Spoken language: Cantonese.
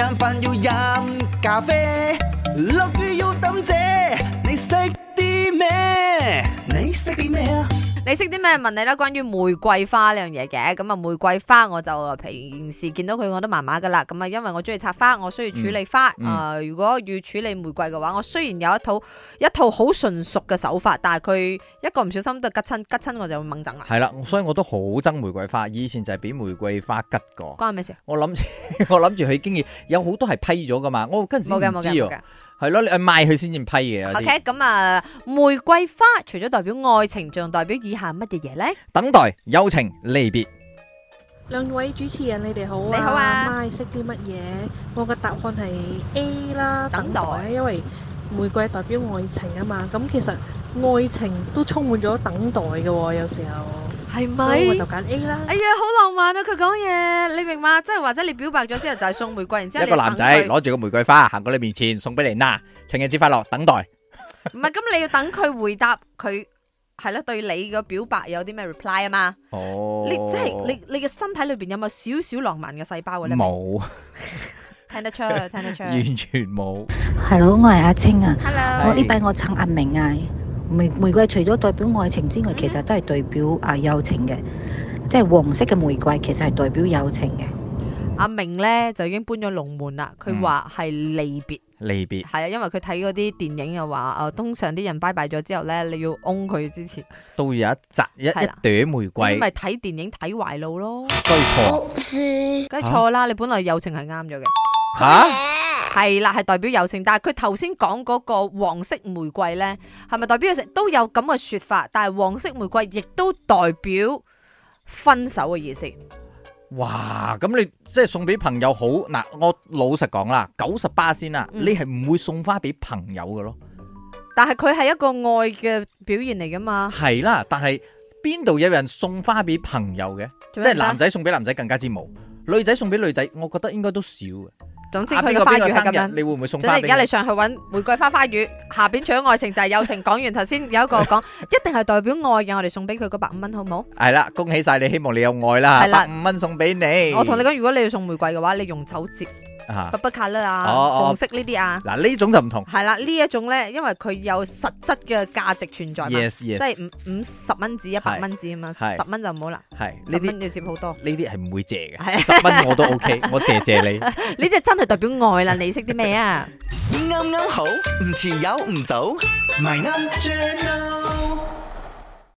晏飯要飲咖啡，落雨要抌遮。你識啲咩？你識啲咩啊？ 你識啲咩？問你啦，關於玫瑰花呢樣嘢嘅。咁啊，玫瑰花我就平時見到佢我都麻麻噶啦。咁啊，因為我中意插花，我需要處理花。如果要處理玫瑰嘅話，我雖然有一套好純熟嘅手法，但係佢一個唔小心都吉親我就會掹憎啦。 係啦，所以我都好憎玫瑰花。以前就係俾玫瑰花吉過。 關咩事？ 我諗住佢經已有好多係批咗噶嘛，我嗰陣時唔知喎。係咯，你賣佢先至批嘅。 OK， 咁啊，玫瑰花除咗代表愛情，仲代表以下乜嘢嘢咧？ 等待、友情、離別。 兩位主持人，你哋好啊！ 你好啊！ 媽識啲乜嘢？我嘅答案係 A 啦， 等待， 因為玫瑰代表愛情啊嘛。咁其實愛情都充滿咗等待嘅喎，有時候。 係咪？ 我就揀 A 啦。 哎呀，好浪漫啊！佢講嘢，你明嘛？即係或者你表白咗之後就係送玫瑰，然之後一個男仔攞住個玫瑰花行過你面前送俾你嗱，情人節快樂，等待。 唔係，咁你要等佢回答佢係啦，對你嘅表白有啲咩 reply 啊嘛？ 哦， 你即係你嘅身體裏邊有冇少少浪漫嘅細胞咧？ 冇， 聽得出， 完全冇。 Hello， 我係阿青啊。 Hello， 我呢排我撐阿明啊。玫瑰除咗代表愛情之外，其實都係代表友情嘅，即係黃色嘅玫瑰其實係代表友情嘅。 阿明咧就已經搬咗龍門啦，佢話係離別，係啊，因為佢睇嗰啲電影又話，通常啲人拜拜咗之後咧，你要擁佢之前， 都有一朵玫瑰。 咁咪睇電影睇壞路咯， 所以錯， 梗係錯啦！你本來友情係啱咗嘅， 吓？ 係啦，係代表友情，但係佢頭先講嗰個黃色玫瑰咧，係咪代表友情都有咁嘅說法？但係黃色玫瑰亦都代表分手嘅意思。 哇！咁你即係送俾朋友好嗱，我老實講啦，90%先啦，你係唔會送花俾朋友嘅咯。 但係佢係一個愛嘅表現嚟噶嘛？ 係啦，但係邊度有人送花俾朋友嘅？即係男仔送俾男仔更加之冇，女仔送俾女仔，我覺得應該都少嘅。 總之佢嘅花語係咁樣， 你會唔會送花俾？ 而家你上去揾玫瑰花語，下邊除咗愛情就係友情。講完頭先有一個講，一定係代表愛嘅，我哋送俾佢嗰150蚊好唔好？ 係啦，恭喜晒你，希望你有愛啦，150蚊送俾你。 我同你講，如果你要送玫瑰嘅話，你用手折。不不卡啦啊，紅色呢啲啊， 嗱呢種就唔同。 係啦，呢一種咧，因為佢有實質嘅價值存在嘛， 即係50蚊紙、100蚊紙啊嘛，10蚊就唔好啦。 係 10蚊要接好多。 呢啲係唔會借嘅，10蚊我都 OK，我借你。 呢隻真係代表愛啦，你識啲咩啊？ 啱啱好，唔遲有唔早，咪啱 channel。